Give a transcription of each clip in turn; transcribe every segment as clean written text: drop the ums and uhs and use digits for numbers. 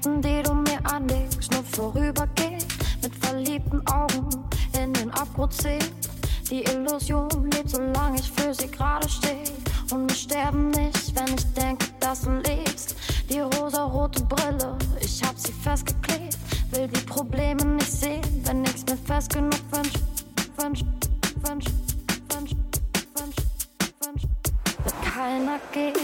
Händen, die du mir anlegst, nur vorübergehend, mit verliebten Augen in den Abgrund sehen. Die Illusion lebt, solange ich für sie gerade stehe. Und wir sterben nicht, wenn ich denke, dass du lebst. Die rosarote Brille, ich hab sie festgeklebt. Will die Probleme nicht sehen, wenn ich's mir fest genug wünsch. Wird keiner gehen.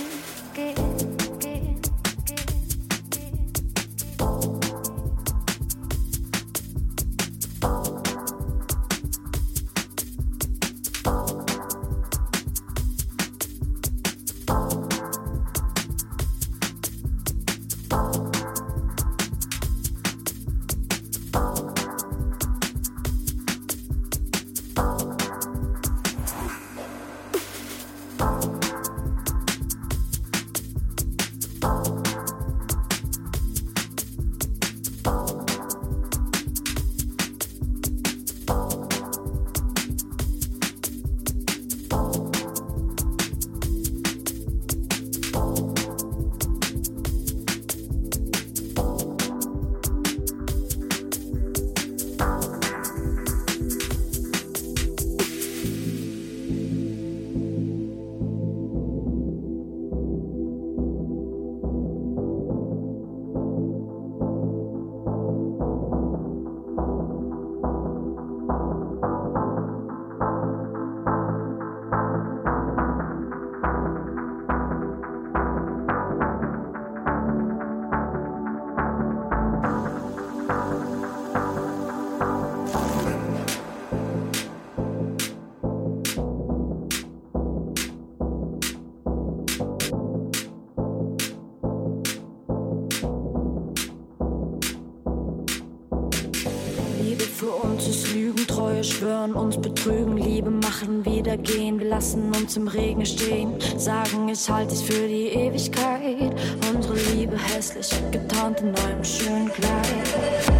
Schwören, uns betrügen, Liebe machen, wieder gehen. Wir lassen uns im Regen stehen, sagen, ich halte dich für die Ewigkeit. Unsere Liebe hässlich, getarnt in einem schönen Kleid.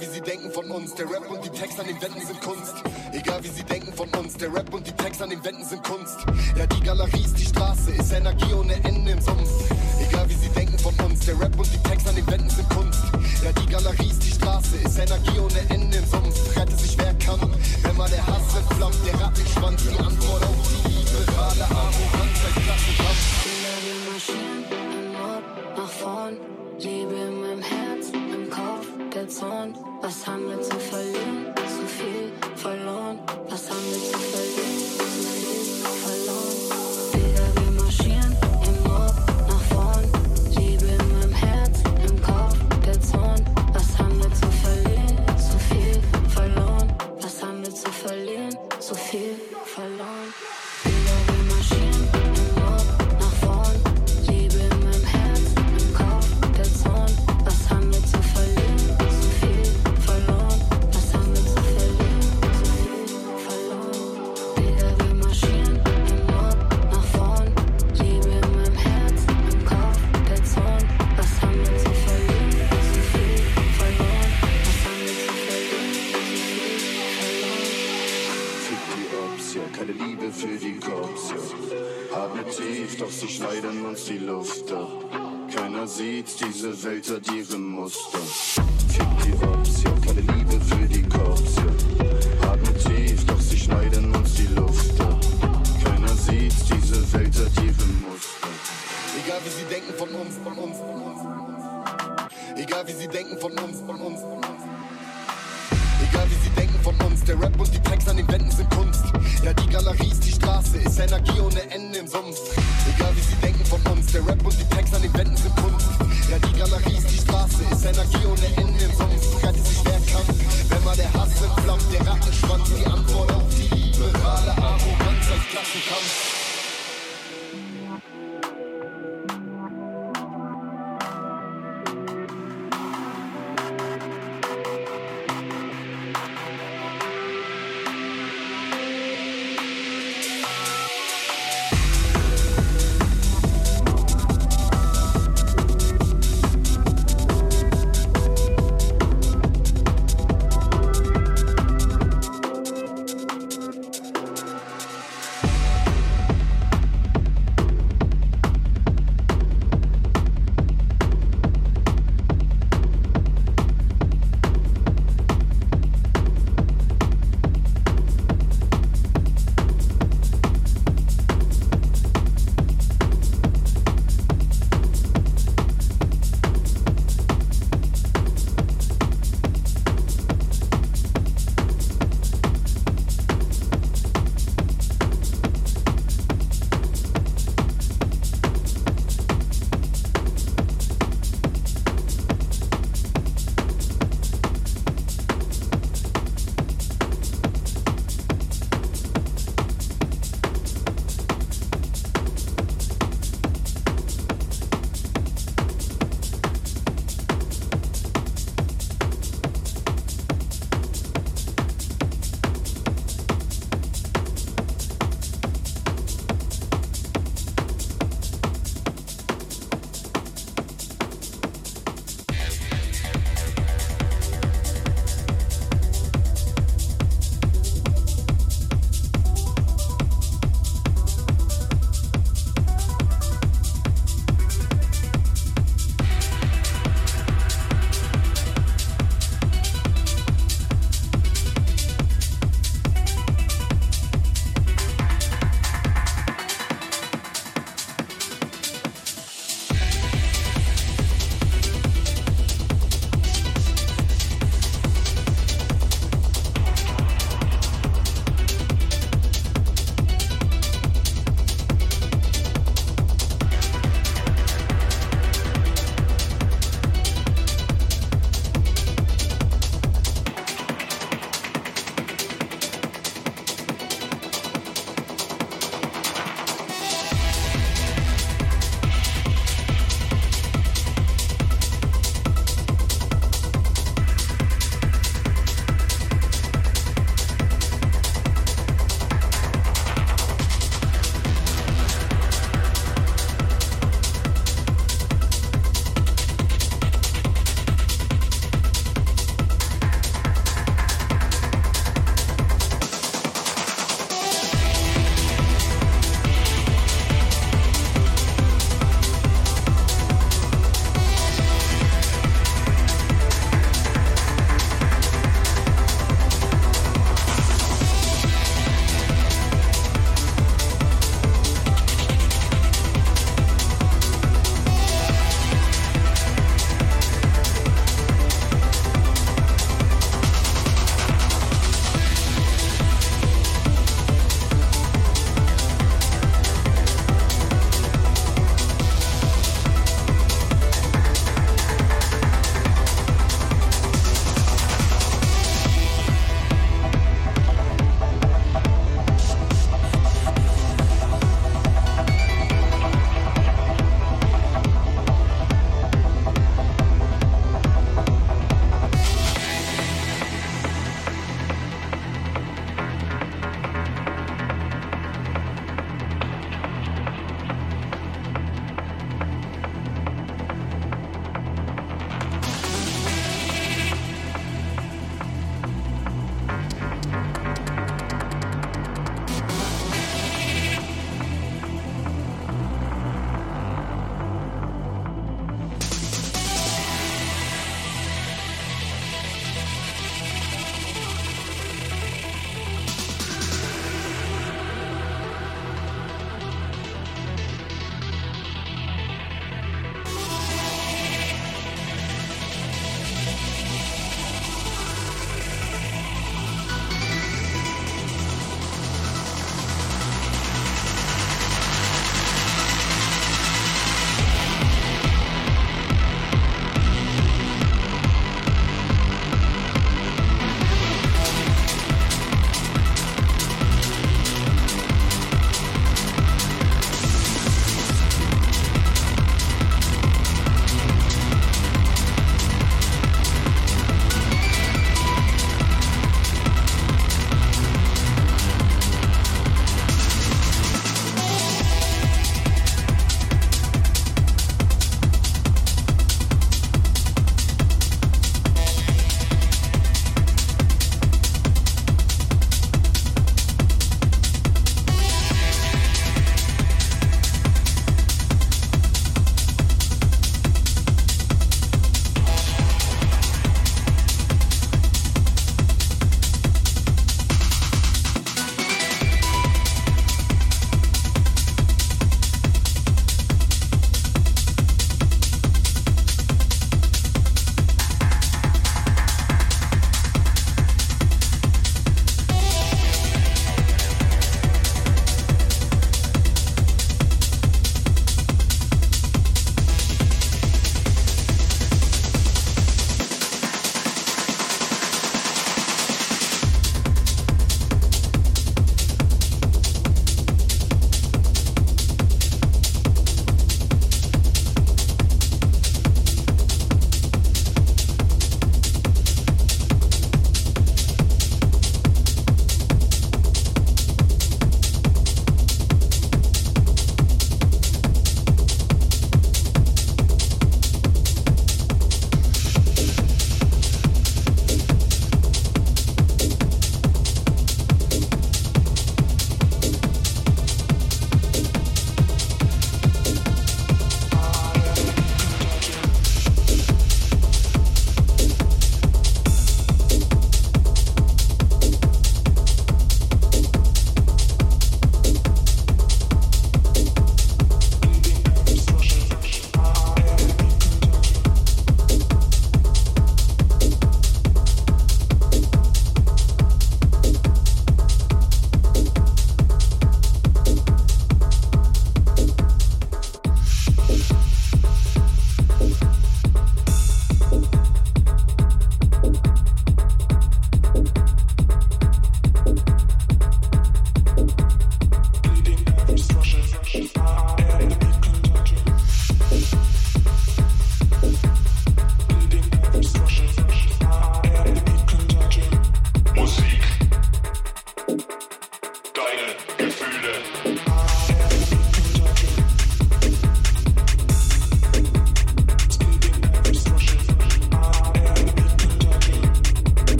wie sie denken von uns, der Rap und die Texte an den Wänden sind Kunst. Egal wie sie denken von uns, der Rap und die Texte an den Wänden sind Kunst. Ja, die Galerie ist die Straße, ist Energie ohne Ende im Sumpf. Egal wie sie denken von uns, der Rap und die Texte an den Wänden sind Kunst. Ja, die Galerie ist die Straße, ist Energie ohne Ende im Sumpf. Rette sich wer kann, wenn mal der Hass entflammt, der Rattenschwanz, die Antwort auf die liberale Arroganz als Klassenkampf. Wir marschieren im Mord nach vorn, Liebe in meinem Herz, im Kopf, der Zorn. Was haben wir zu verlieren? Zu viel verloren. Was haben wir zu verlieren? Zu viel verloren. Wieder wir marschieren im Mord nach vorn, Liebe in meinem Herz, im Kopf, der Zorn. Was haben wir zu verlieren? Zu viel verloren. Was haben wir zu verlieren? Zu viel verloren. Wieder wir marschieren im Mord nach vorn, Liebe in meinem Herz, im Kopf, der Zorn. Was haben wir zu verlieren? Zu viel verloren. Was haben wir zu verlieren? Zu viel verloren. Wieder wir marschieren im Mord nach vorn, Liebe in meinem Herz, im Kopf, der Zorn. Was haben wir zu verlieren? Zu viel verloren. Was haben wir zu verlieren? Zu viel verloren. Fick die Ops, ja, keine Liebe für die Cops, ja. Atme tief, doch sie schneiden uns die Luft ab. Keiner sieht, diese Welt hat ihre Muster. Fick die Ops, ja, keine Liebe für die Cops, ja. Atme tief, doch sie schneiden uns die Luft ab. Keiner sieht, diese Welt hat ihre Muster. Egal wie sie denken von uns, von uns, von uns. Egal wie sie denken von uns, von uns, von uns. Egal wie sie denken von uns, der Rap und die Texte an den Wänden sind Kunst. Ja, die Galerie ist die Straße, ist Energie ohne Ende im Sumpf. Egal wie sie denken von uns, der Rap und die Texte an den Wänden sind Kunst. Ja, die Galerie ist die Straße, ist Energie ohne Ende im Sumpf. Rette sich wer kann, wenn mal der Hass entflammt, der Rattenschwanz, die Antwort auf die liberale Arroganz als Klassenkampf.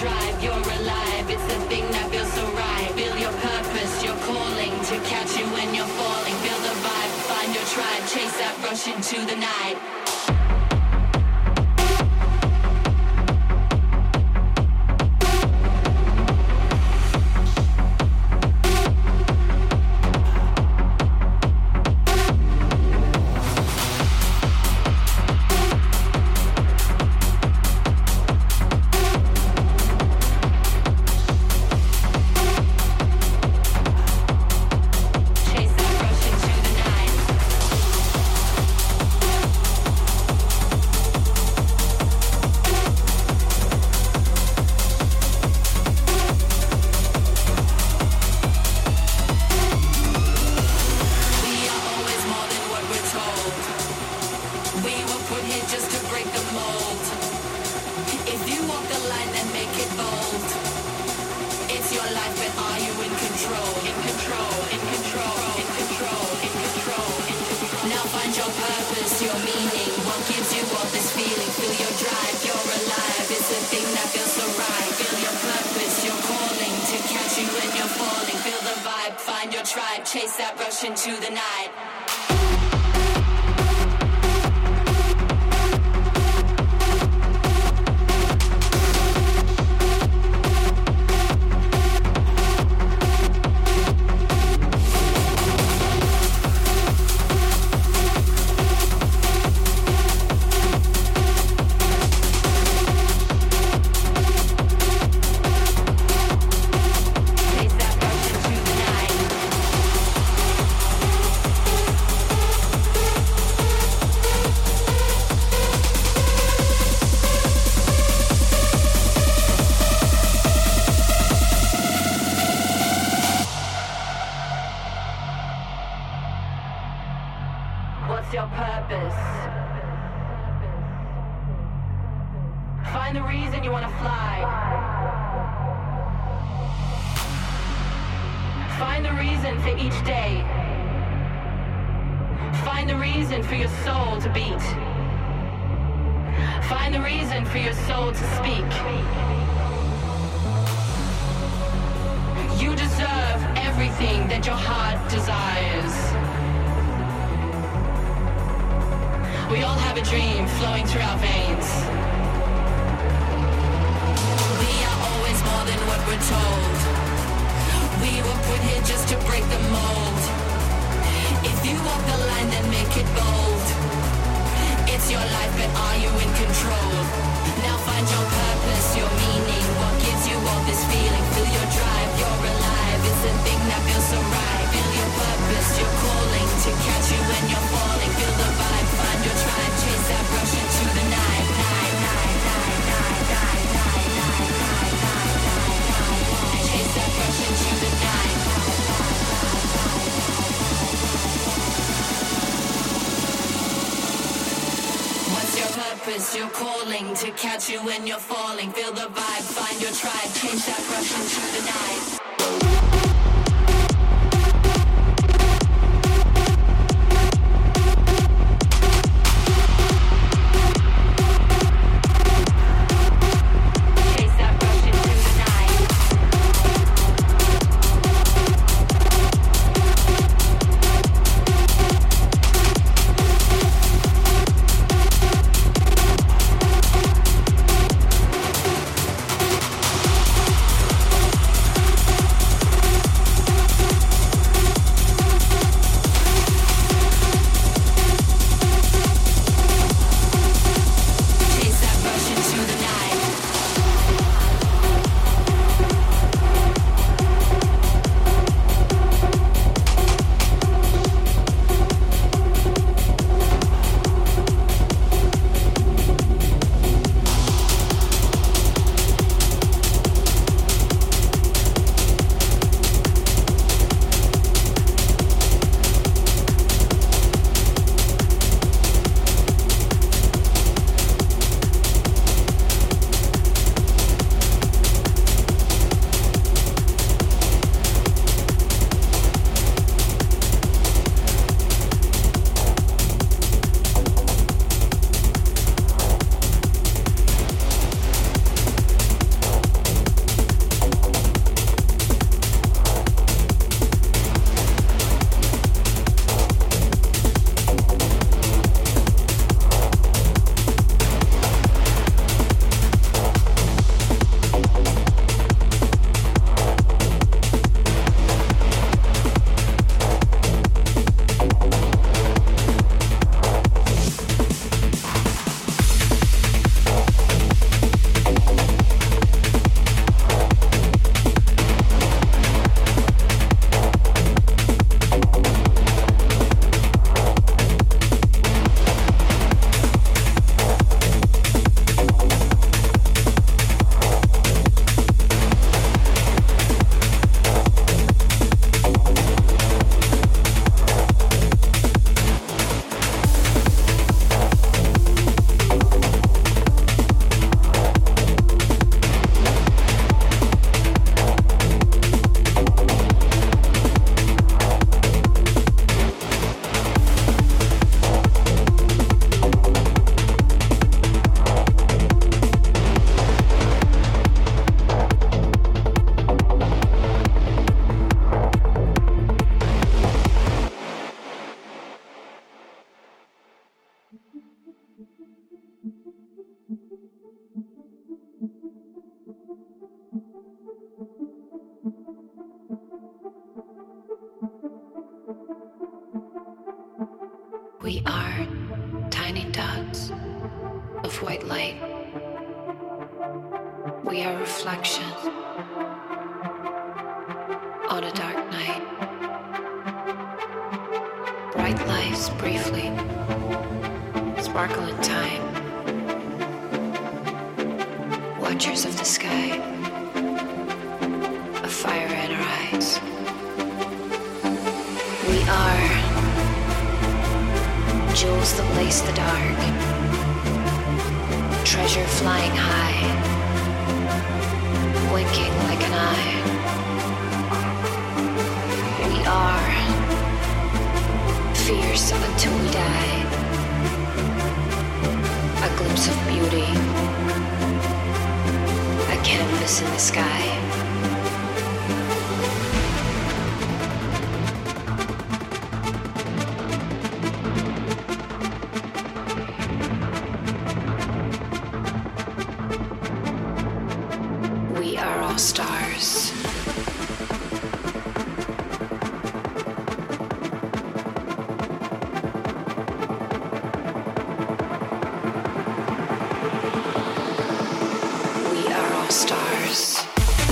drive, you're alive. It's the thing that feels so right. Feel your purpose, your calling to catch you when you're falling. Feel the vibe, find your tribe, chase that rush into the night. Chase that rush into the night. What's your purpose? Find the reason you want to fly. Find the reason for each day. Find the reason for your soul to beat. Find the reason for your soul to speak. You deserve everything that your heart desires. We all have a dream flowing through our veins. We are always more than what we're told. We were put here just to break the mold. If you walk the line, then make it bold. It's your life, but are you in control? Now find your purpose, your meaning. What gives you all this feeling? Feel your drive, you're alive. It's the thing that feels so right. Feel your purpose, your calling to catch you when you're falling. Feel the vibe, find your tribe, chase that rush into the night. Chase that rush into the night. What's your purpose, your calling to catch you when you're falling? Feel the vibe, find your tribe, chase that rush into the night. reflection on a dark night. Bright lights briefly sparkle in time. Watchers of the sky, a fire in our eyes. We are jewels that lace the dark, treasure flying high, winking like an eye. We are fierce until we die, a glimpse of beauty, a canvas in the sky. We are all stars. Stars.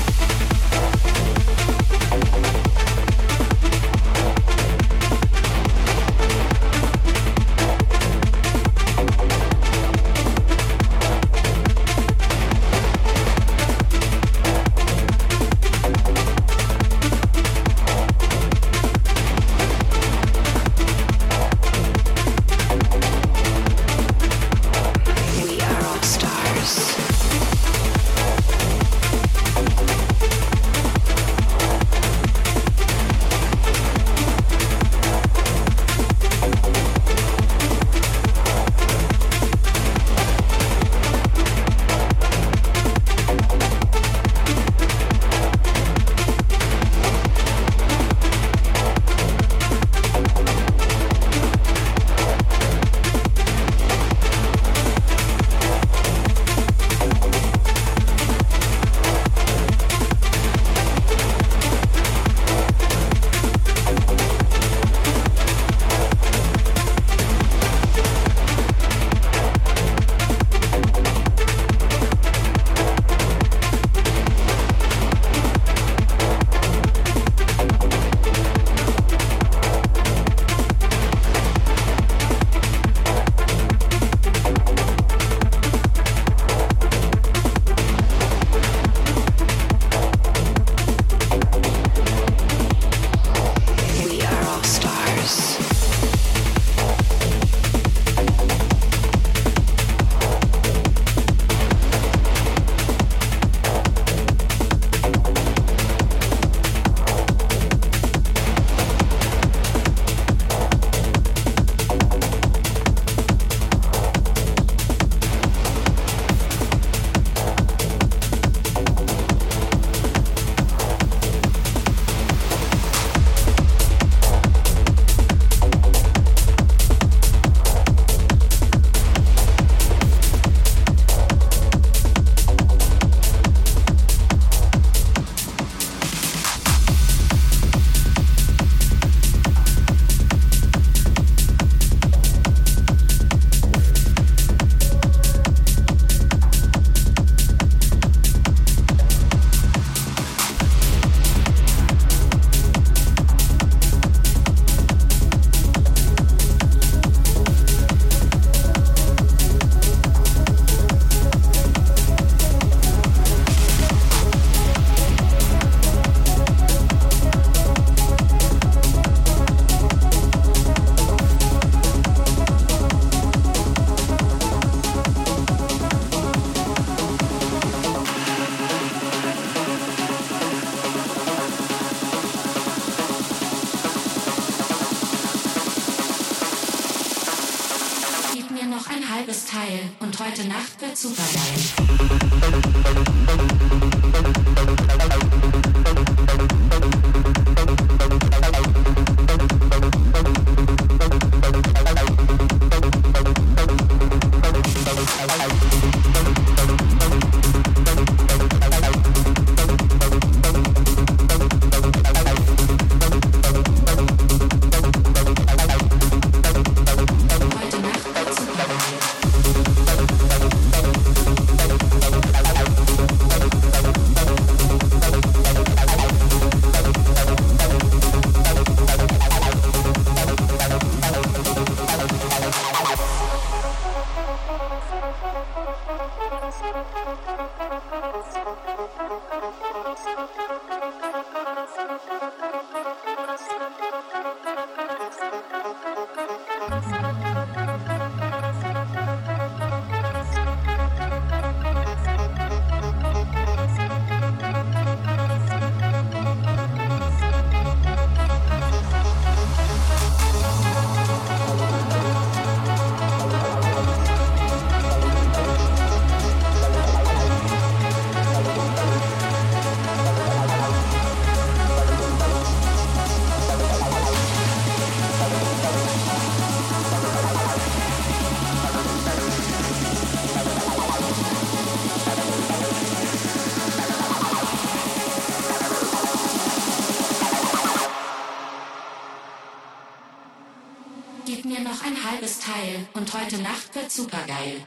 Teil und heute Nacht wird super geil. alles Teil und heute Nacht wird supergeil.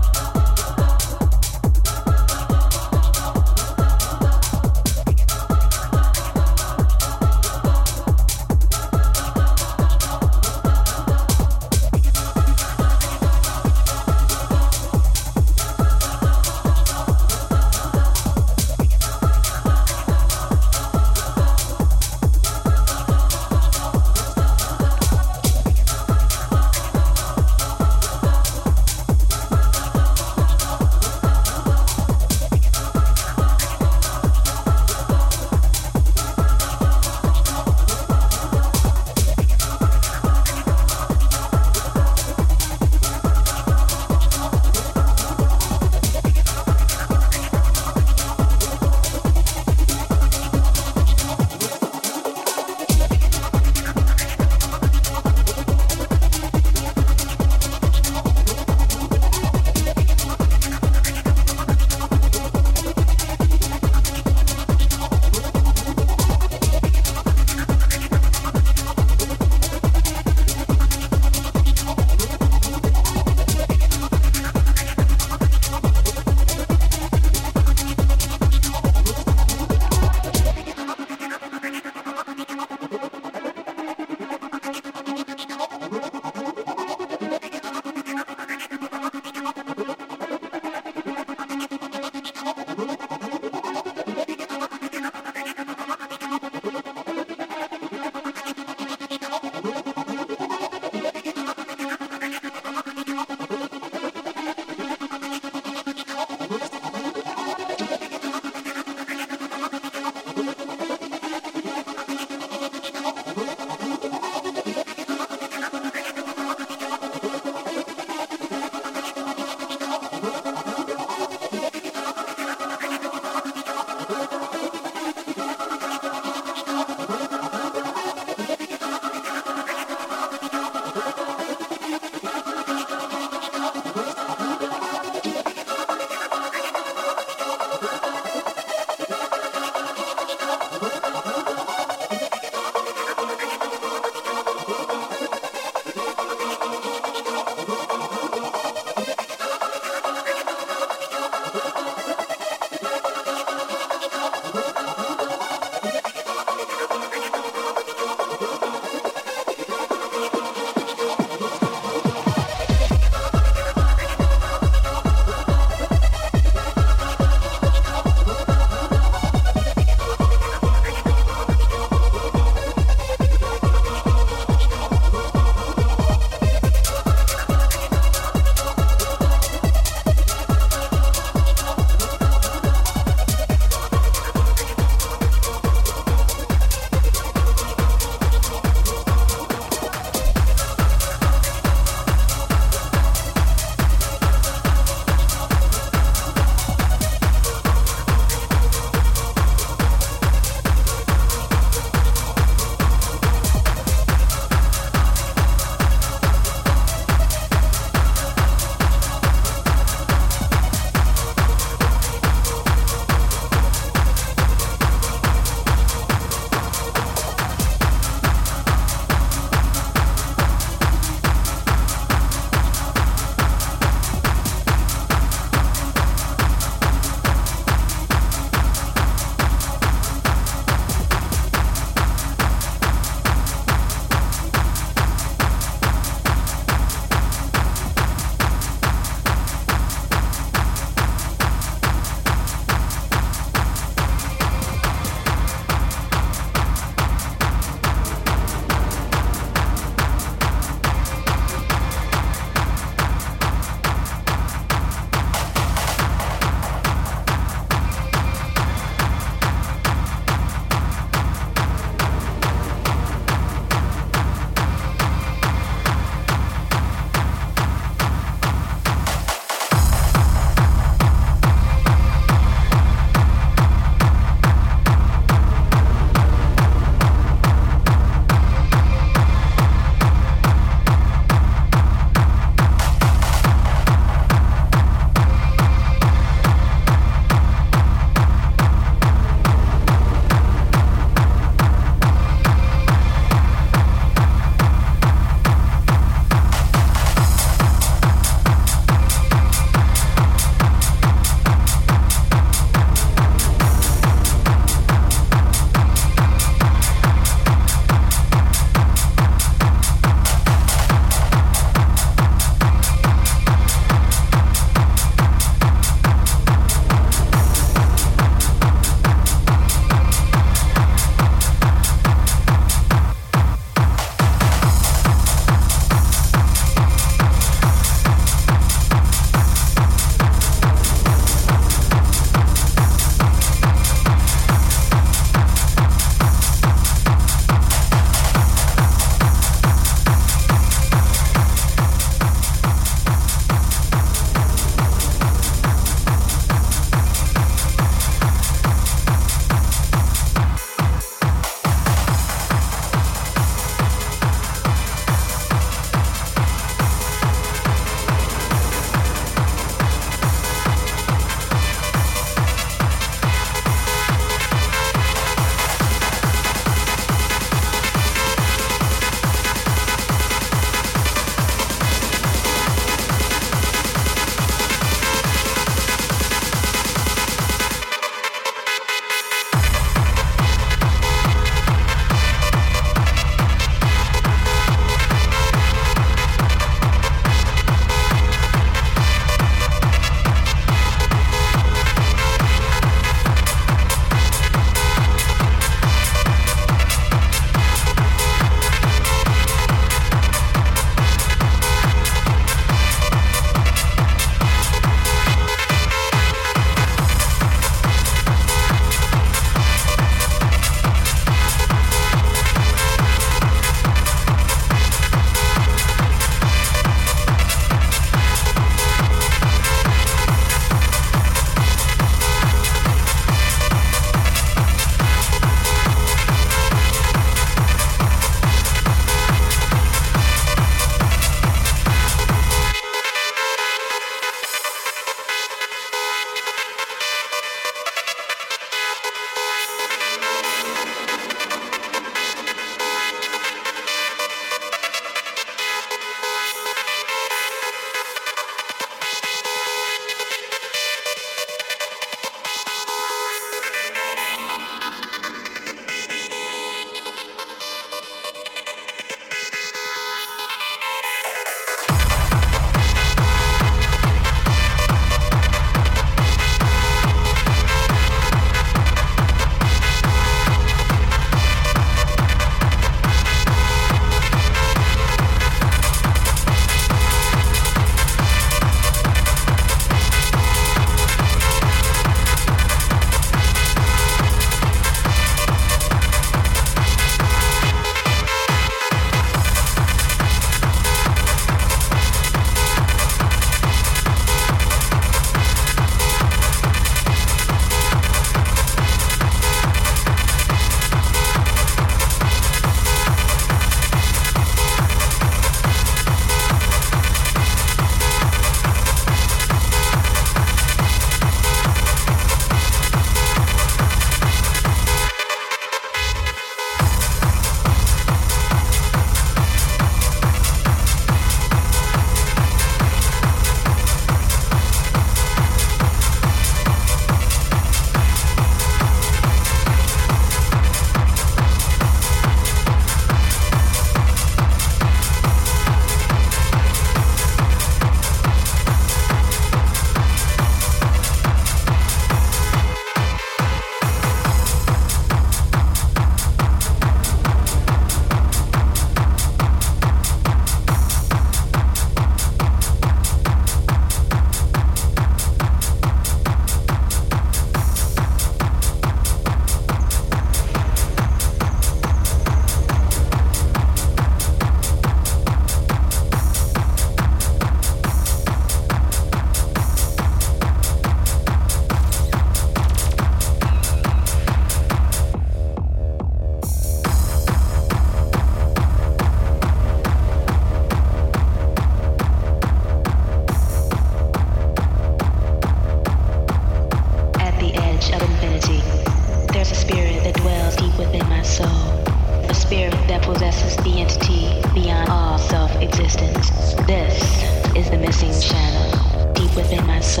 that possesses the entity beyond all self-existence. This is the missing shadow, deep within my soul.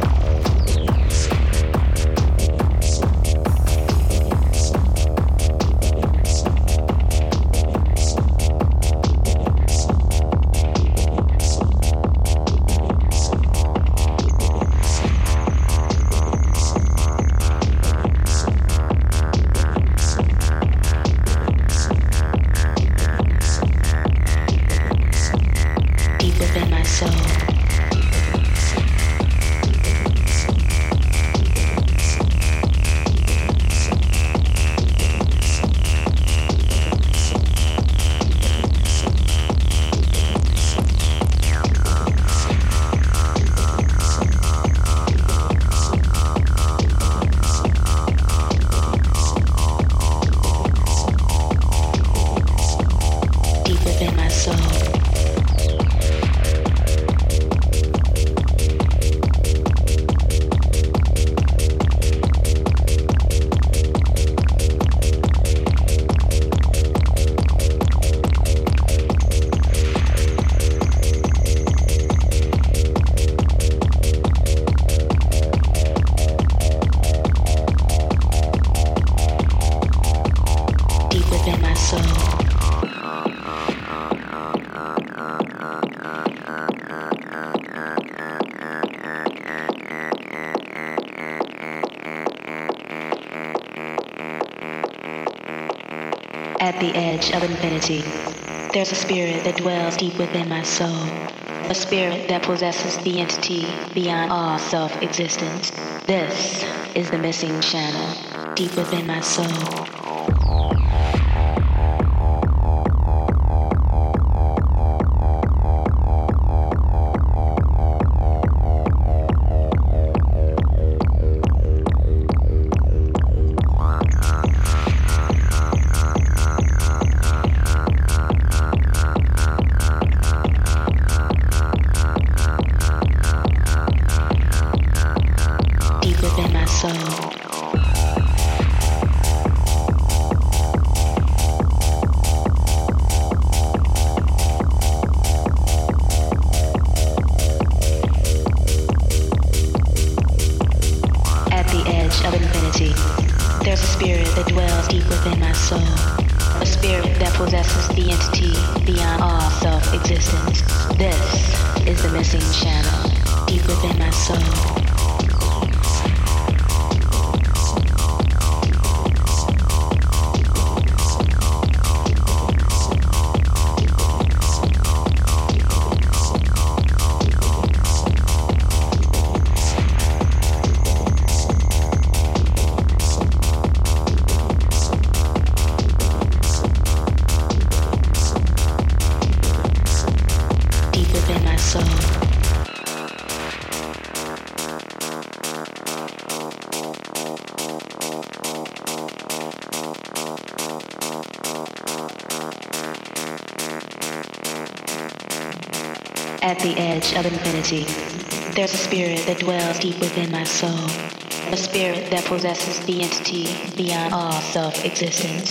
At the edge of infinity, there's a spirit that dwells deep within my soul. A spirit that possesses the entity beyond all self-existence. This is the missing channel, deep within my soul. At the edge of infinity, there's a spirit that dwells deep within my soul. A spirit that possesses the entity beyond all self-existence.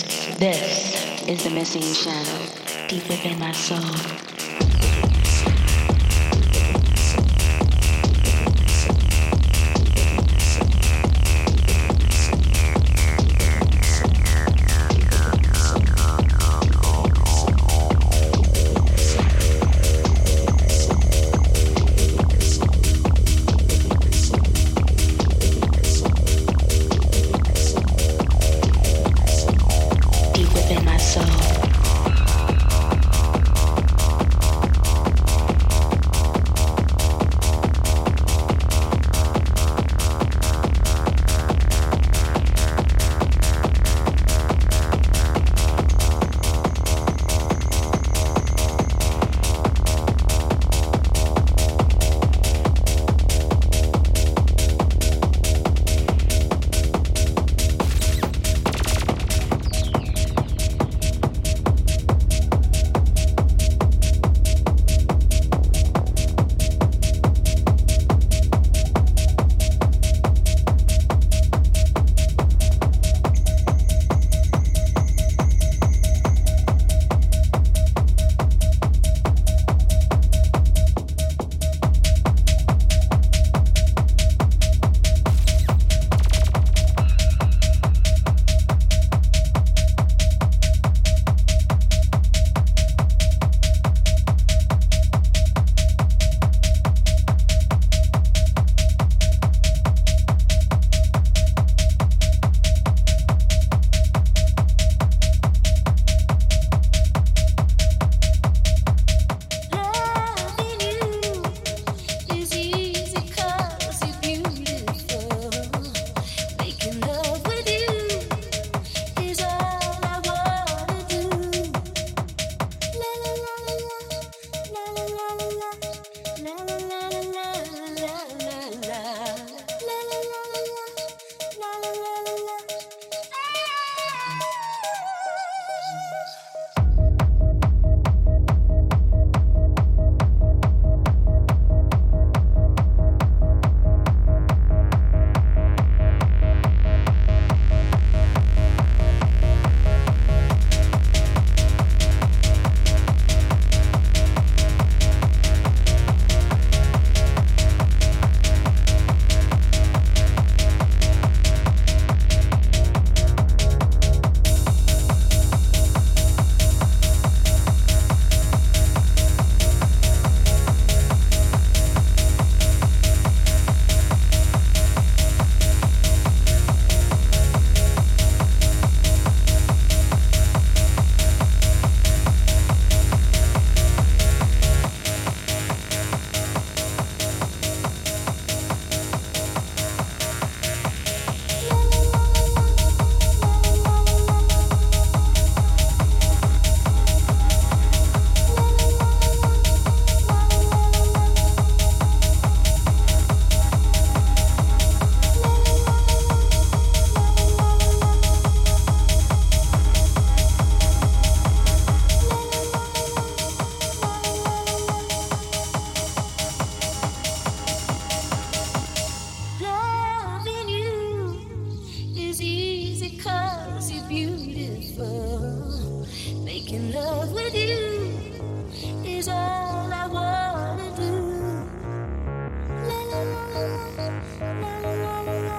This is the missing shadow, deep within my soul. Deep within my soul. Making love with you is all I wanna do. La la la la la la la la la la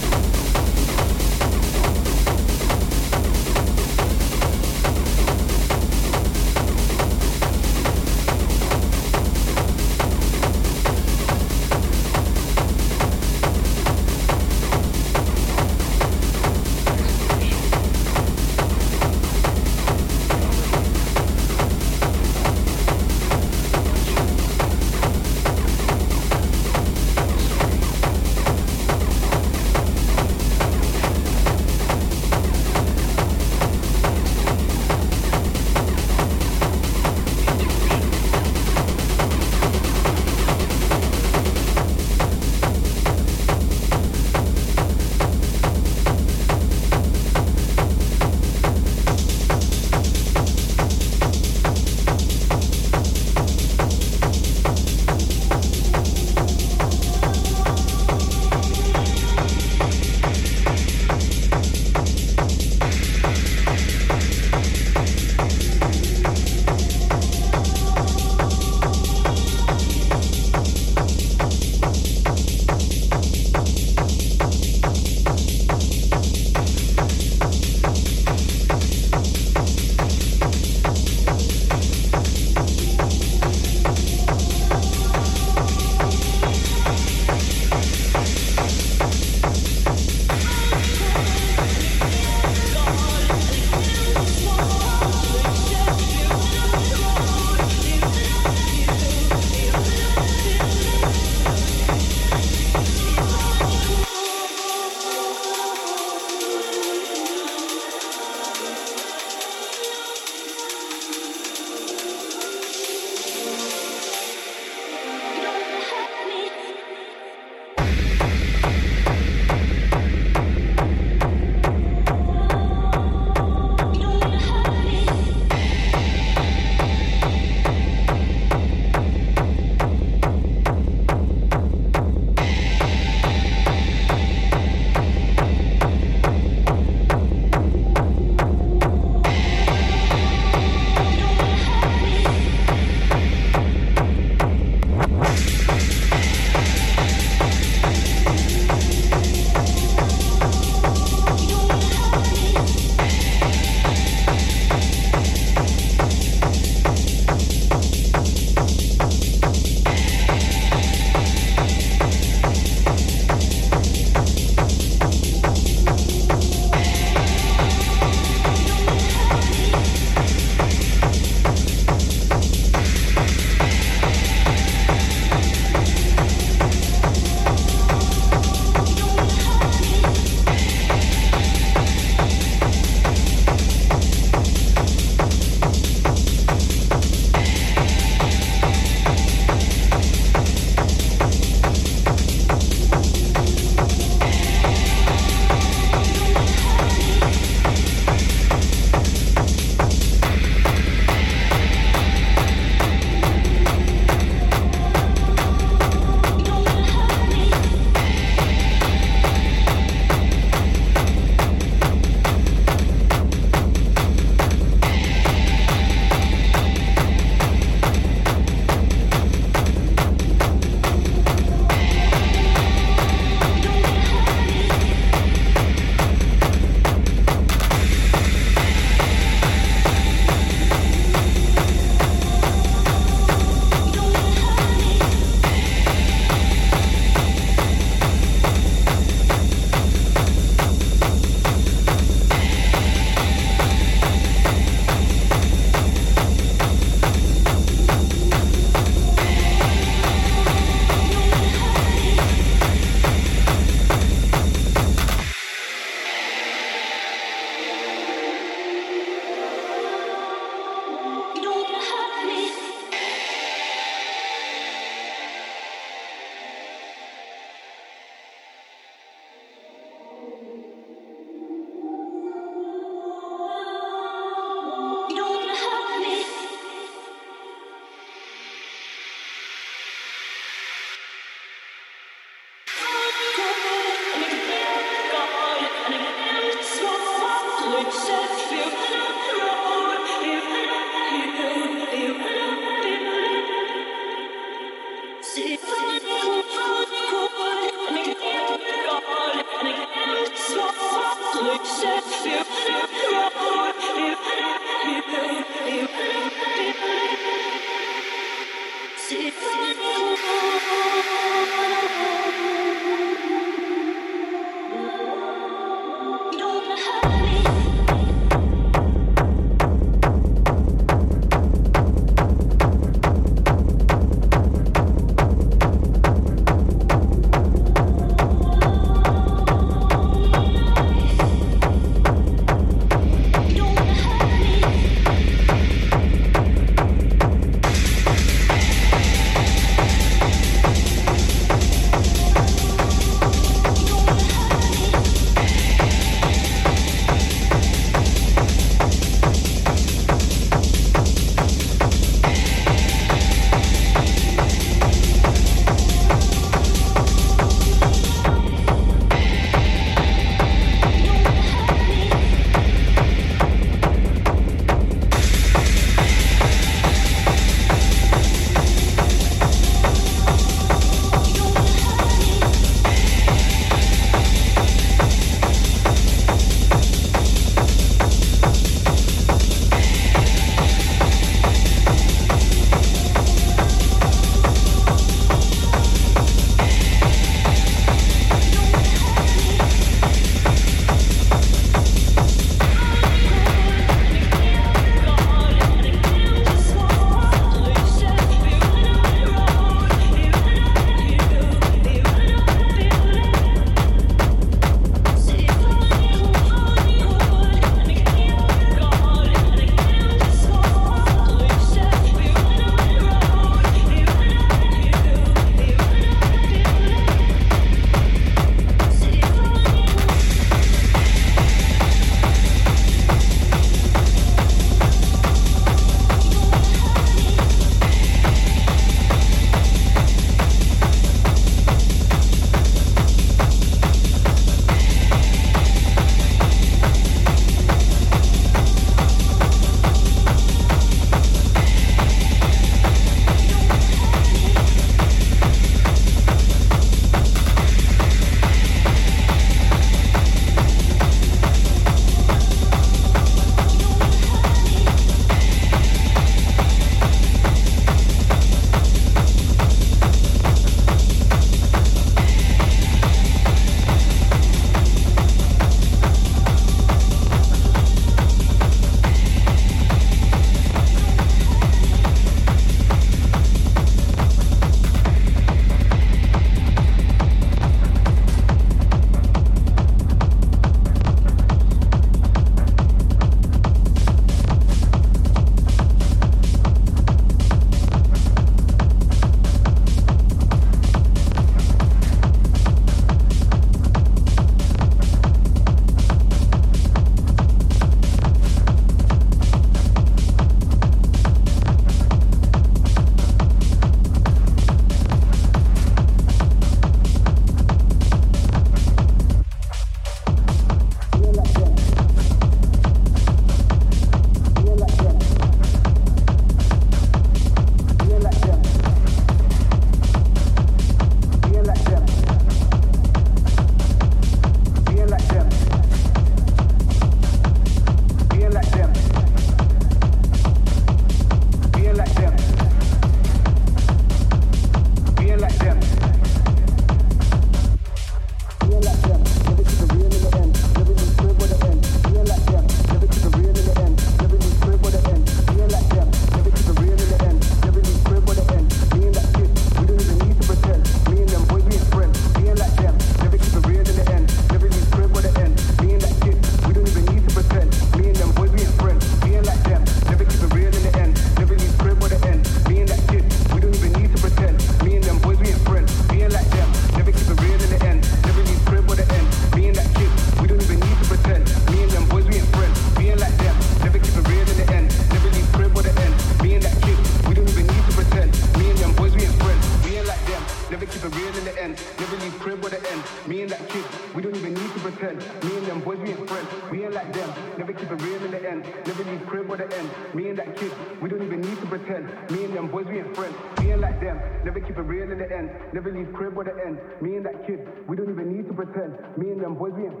Never leave crib or the end. Me and that kid, we don't even need to pretend. Me and them boys, we ain't friends.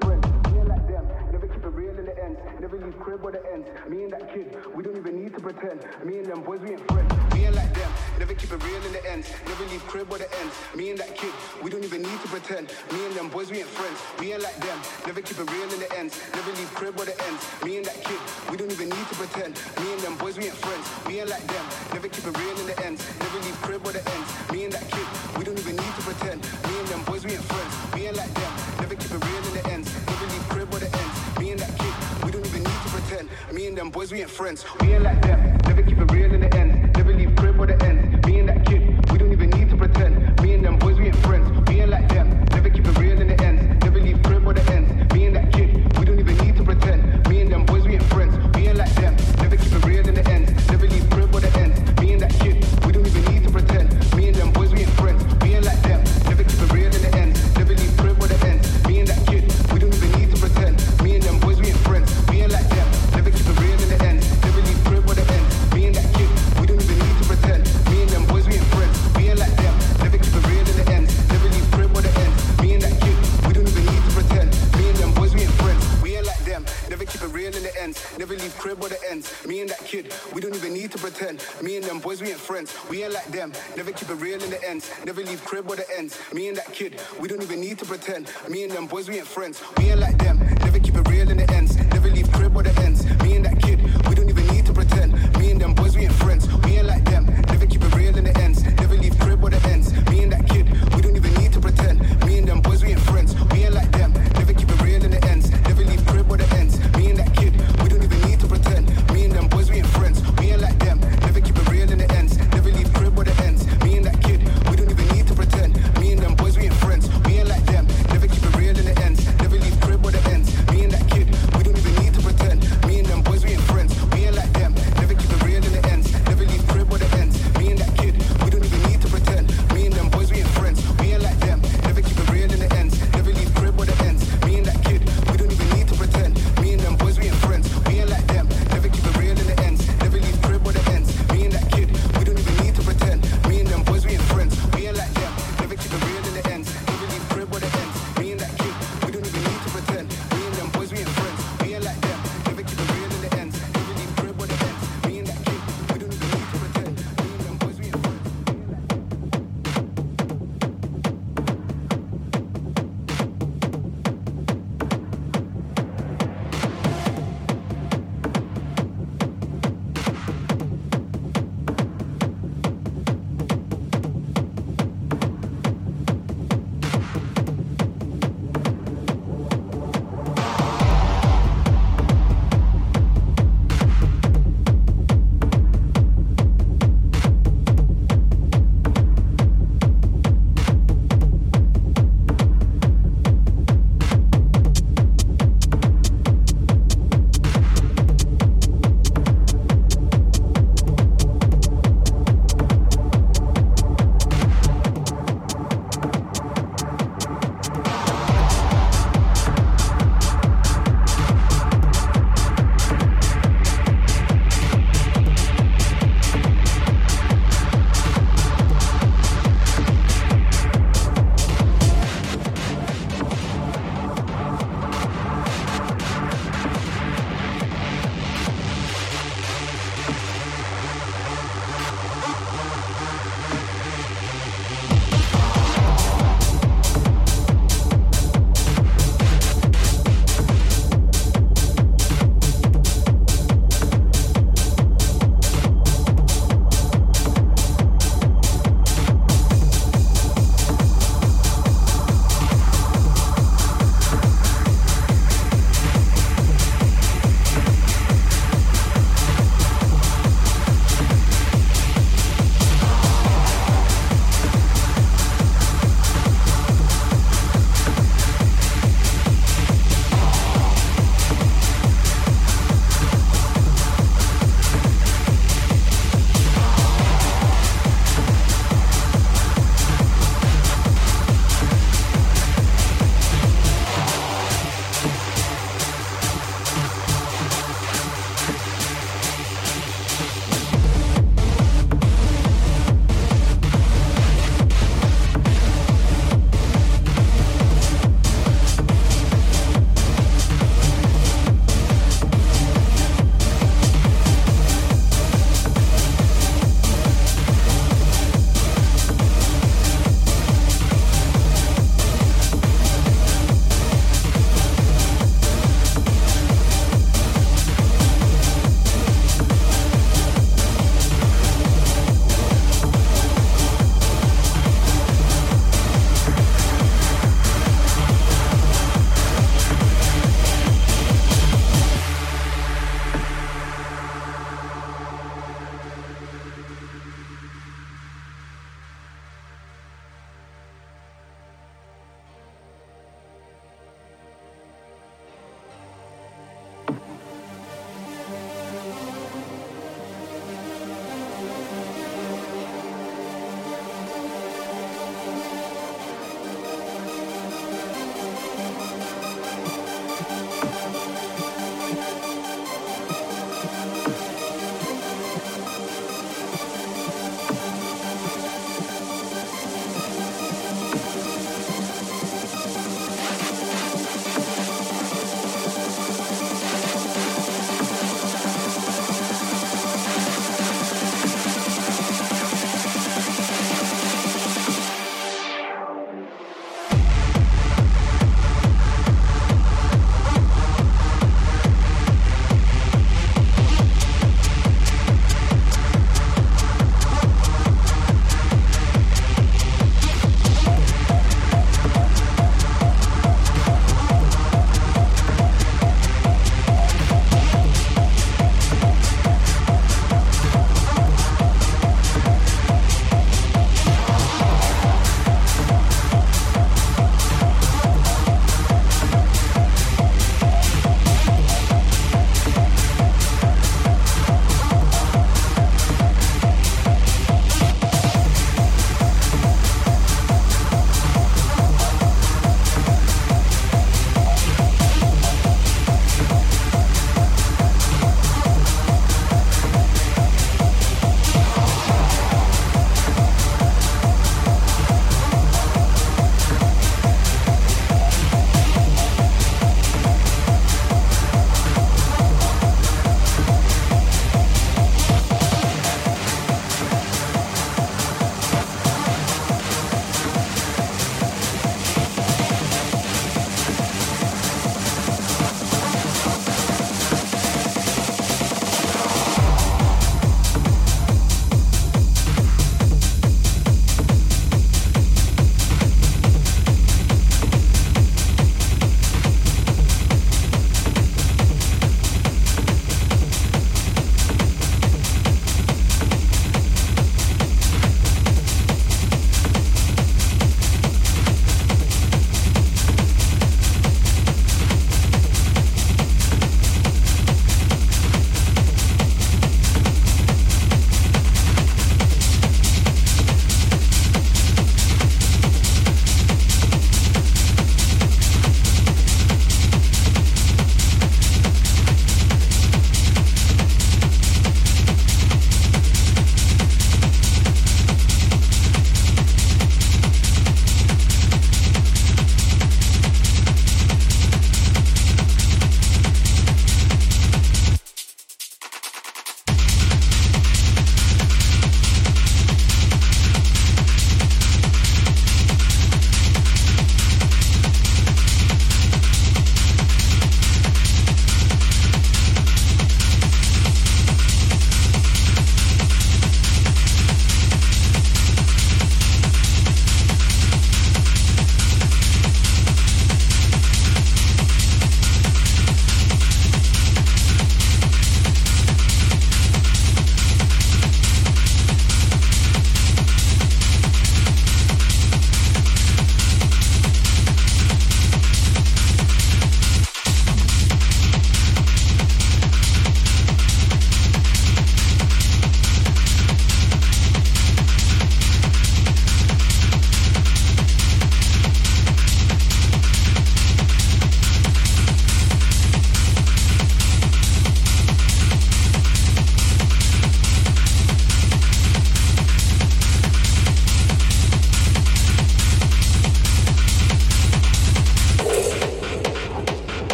We ain't like them, never keep it real in the ends. Never leave crib where the ends. Me and that kid, we don't even need to pretend. Me and them boys, we ain't friends. We ain't like them, never keep it real in the ends. Never leave crib where the ends. Me and that kid, we don't even need to pretend. Me and them boys, we ain't friends. We ain't like them, never keep it real in the ends. Never leave crib where the ends. Me and that kid, we don't even need to pretend. Me and them boys, we ain't friends. We ain't like them, never keep it real in the ends. Never leave crib where the ends. Me and that kid, we don't even need to pretend. Me and them boys, we ain't friends. We ain't like them, never keep it real in the ends. Never leave crib where the ends. Me and that kid, we don't even need to pretend. Me and them boys, we ain't friends. We ain't like them, never keep it real in the ends. Never leave crib where the ends. Me and that kid, we don't even need to pretend. Me and them boys, we ain't friends. We ain't like them, never keep it real in the ends. Never leave crib where the ends. Me and that kid, we don't even need to pretend. Me and them boys, we ain't friends. We ain't like them, never keep it real in the ends. Never leave crib where the ends. Me and that kid, we don't even need to pretend. Me and them boys, we ain't friends. We ain't like them, never keep it real in the ends. Never leave crib where the ends. Me and that kid, we don't even need to pretend. Me and them boys, we ain't friends. We ain't like them, never keep it real in the ends. Never leave crib where the ends. Me and that kid, we don't even need to pretend. Me and them boys, we ain't friends. We ain't like them, never keep it real in the ends. Never leave crib where the ends. Me and that kid, we don't even need to pretend. Me and them boys, we ain't friends. We ain't like them, never keep it real in the ends. Never leave crib where the ends. Me and that kid, we don't even need to pretend. Me and them boys, we ain't friends. We ain't like them, never keep it real in the ends. Never leave crib where the ends. Me and that kid, we don't even need to pretend. Me and them boys, we ain't friends. We ain't like them, never keep it real in the ends. Never leave crib where the ends. Me and that kid, we don't even need to pretend. Me and them boys, we ain't friends. We ain't like them, never keep it real in the ends. Never leave crib where the ends. Me and that kid, we don't even need to pretend. Me and them boys, we ain't friends. We ain't like them, never keep it real in the ends. Never leave crib where the ends. Me and that kid, we don't even need to pretend. Me and them boys, we ain't friends. We ain't like them, never keep it real in the ends. Never leave crib where the ends. Me and that kid, we don't even need to pretend. Me and them boys, we ain't friends. We ain't like them, never keep it real in the ends. Never leave crib where the ends. Me and that kid,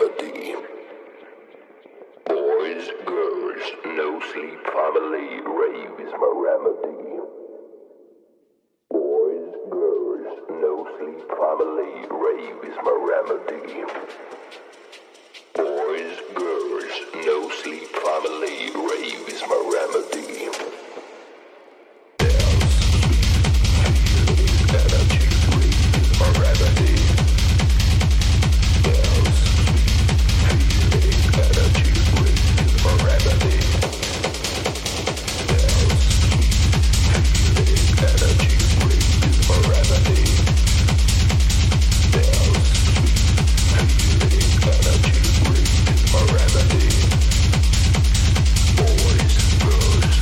remedy. Boys, girls, no sleep family, rave is my remedy. Boys, girls, no sleep family, rave is my remedy. Boys, girls, no sleep family, rave is my remedy. Boys, girls,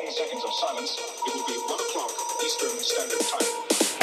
15 seconds of silence. It will be 1 o'clock Eastern Standard Time.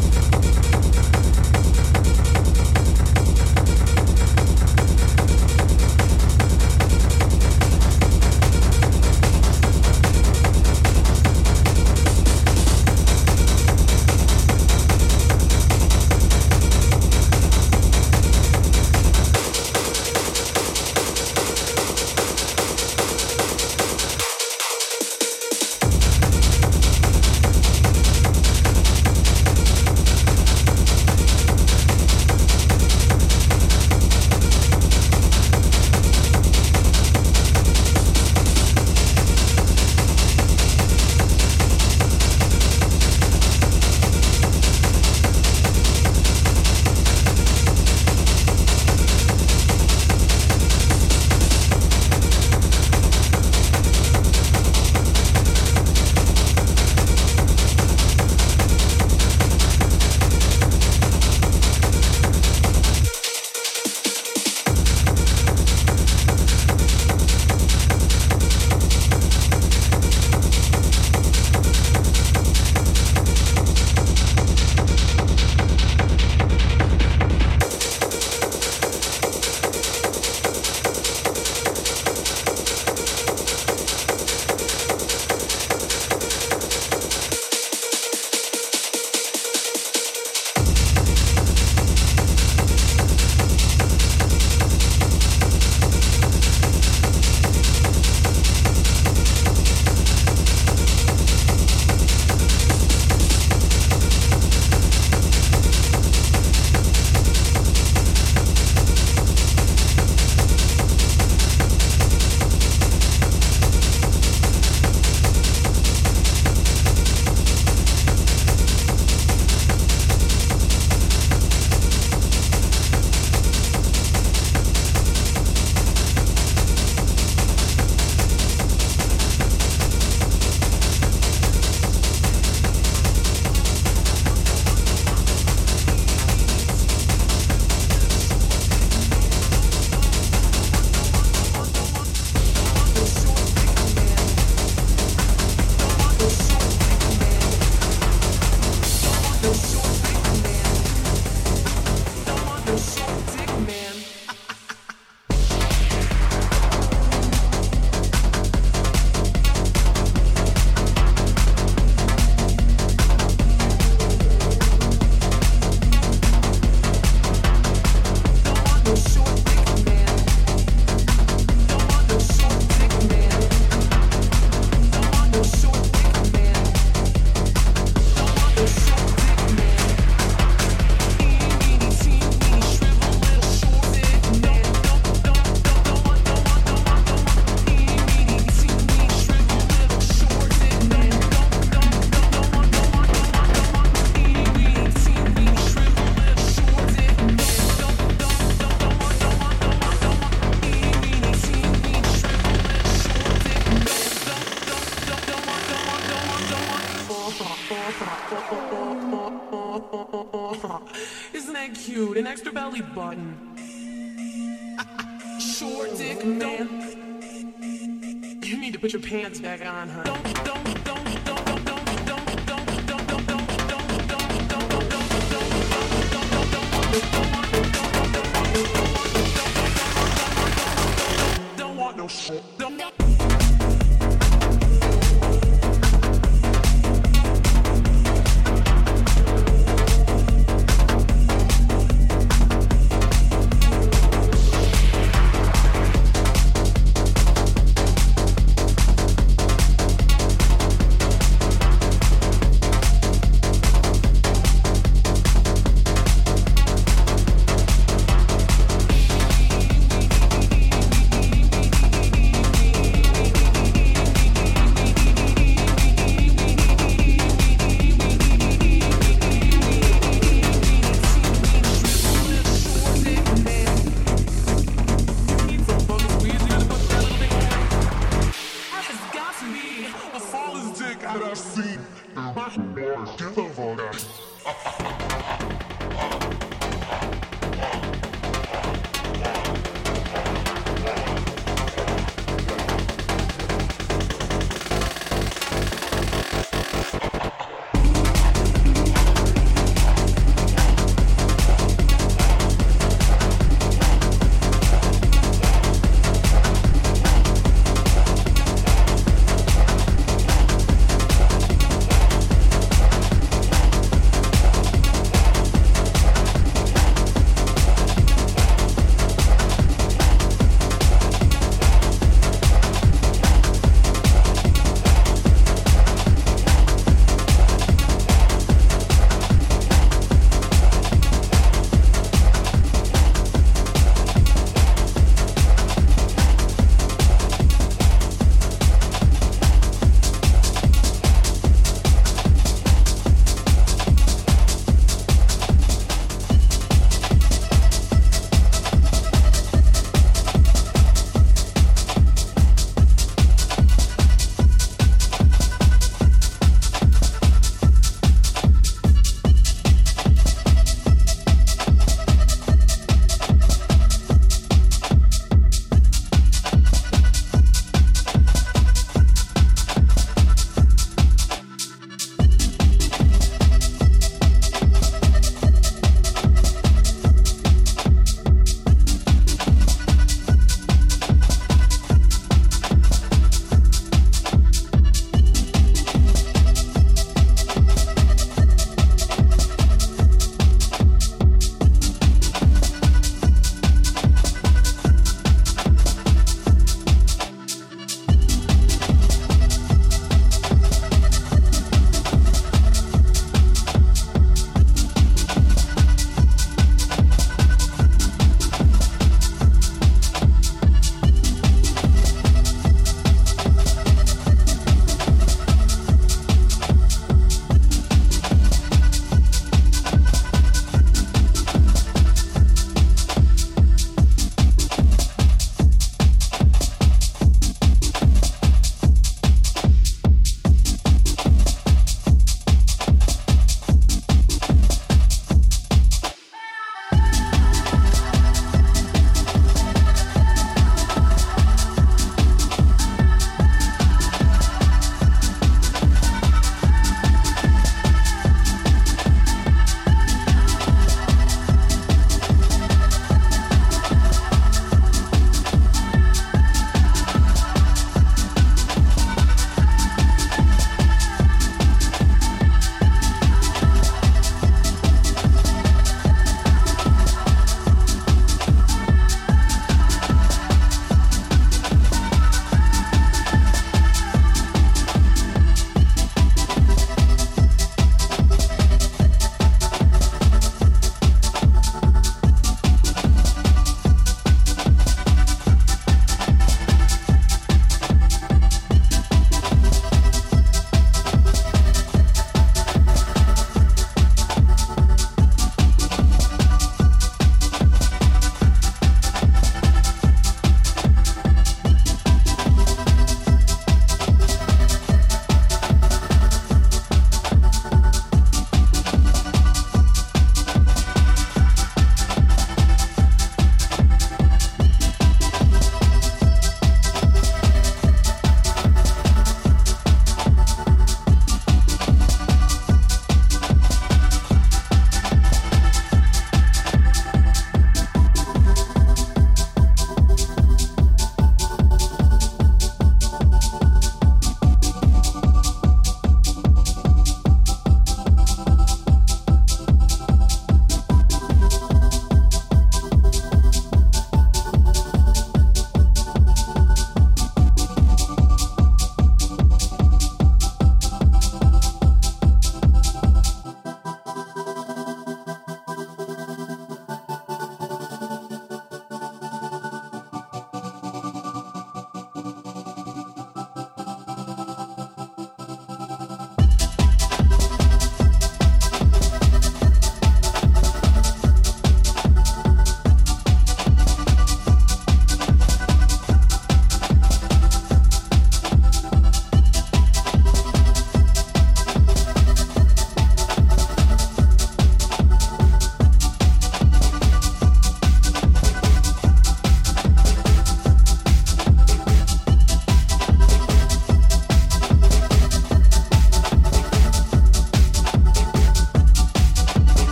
Isn't that cute? An extra belly button. Short dick man. You need to put your pants back on, huh? Don't want no shit.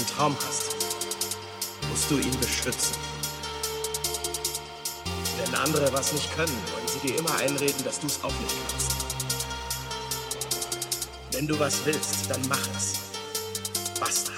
Traum hast, musst du ihn beschützen. Wenn andere was nicht können, wollen sie dir immer einreden, dass du es auch nicht kannst. Wenn du was willst, dann mach es. Basta.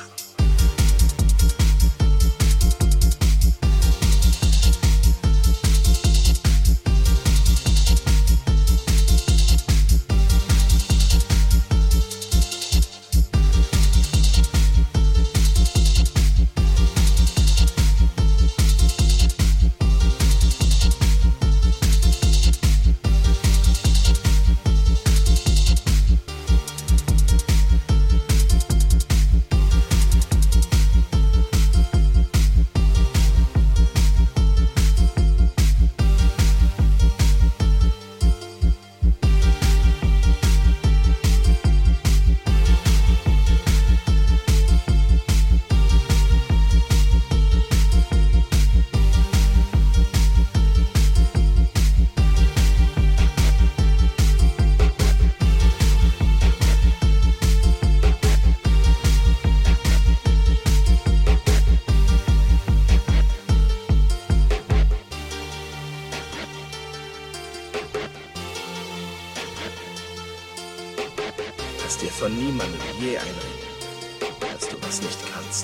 Lass dir von niemandem je einreden, dass du was nicht kannst.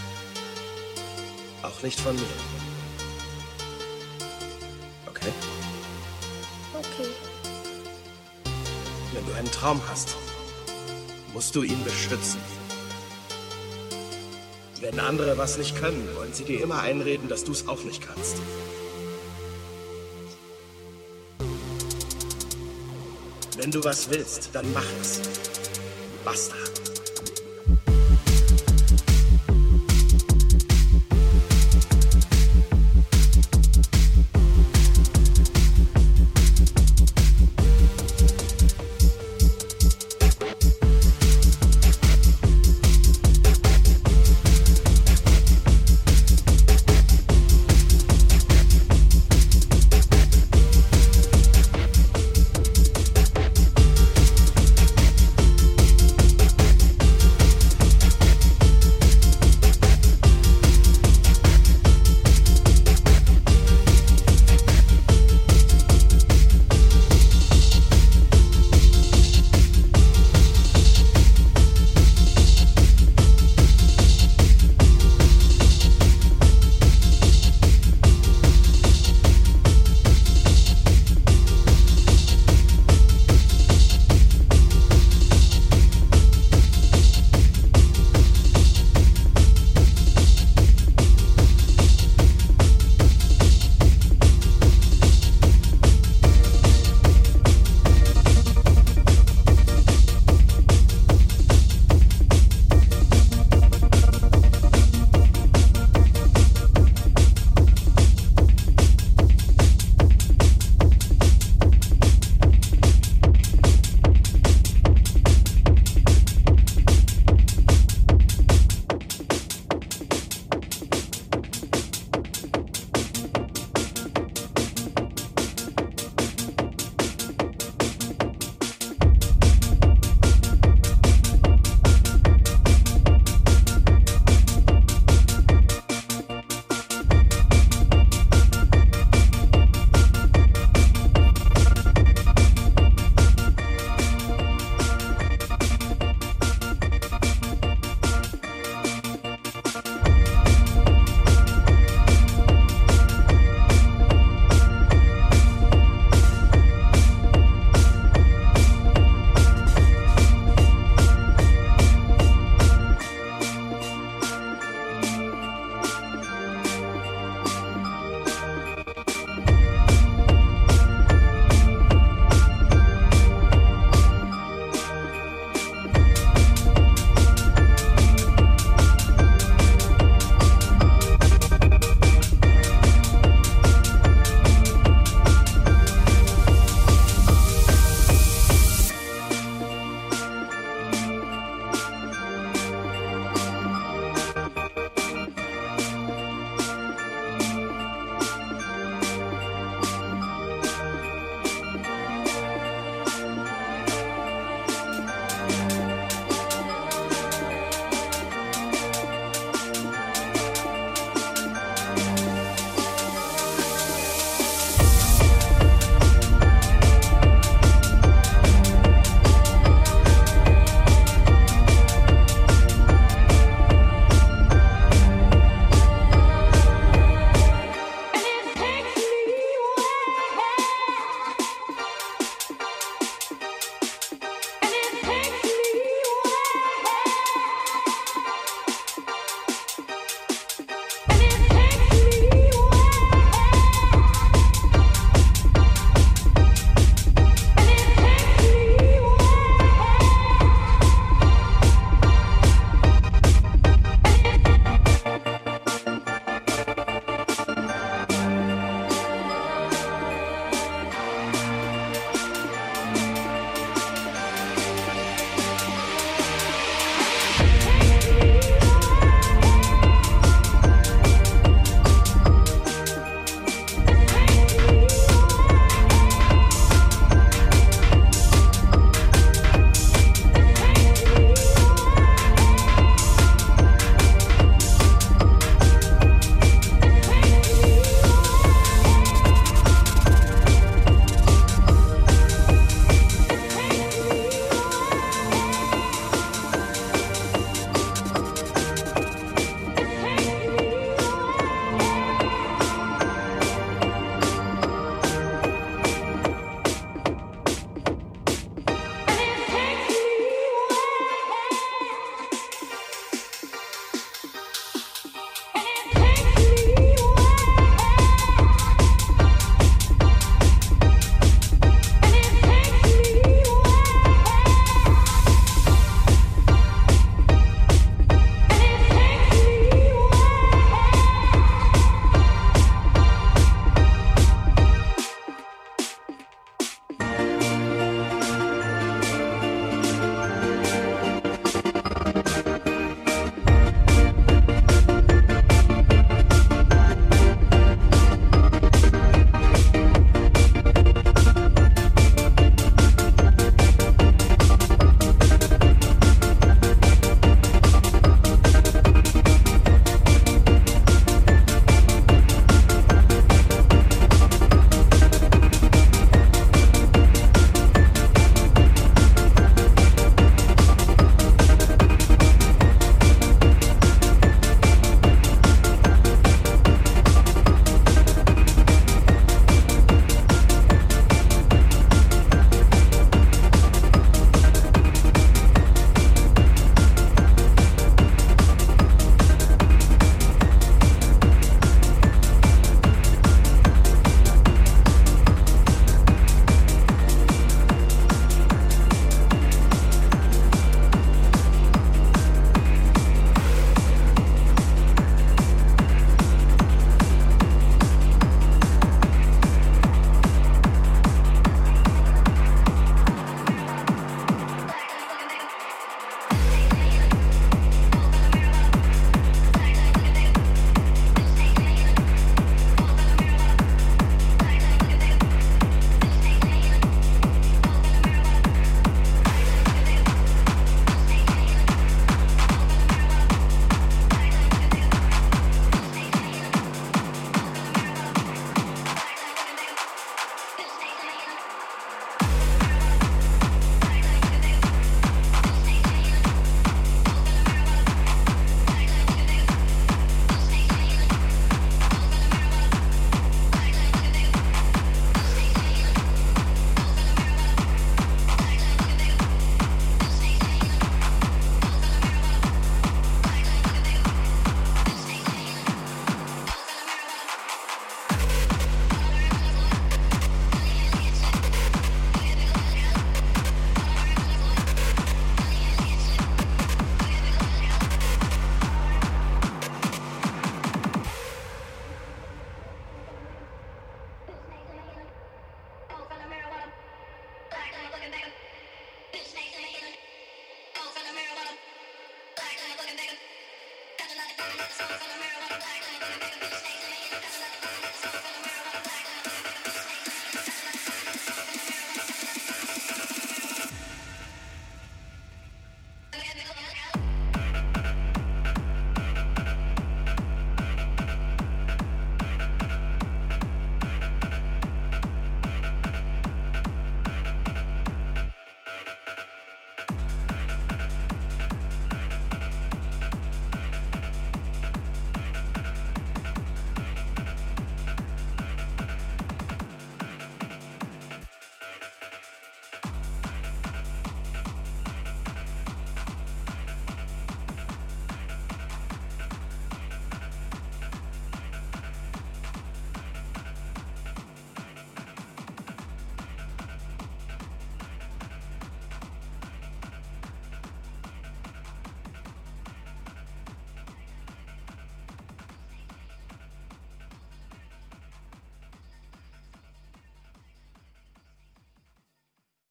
Auch nicht von mir. Okay? Okay. Wenn du einen Traum hast, musst du ihn beschützen. Wenn andere was nicht können, wollen sie dir immer einreden, dass du es auch nicht kannst. Wenn du was willst, dann mach es. Basta.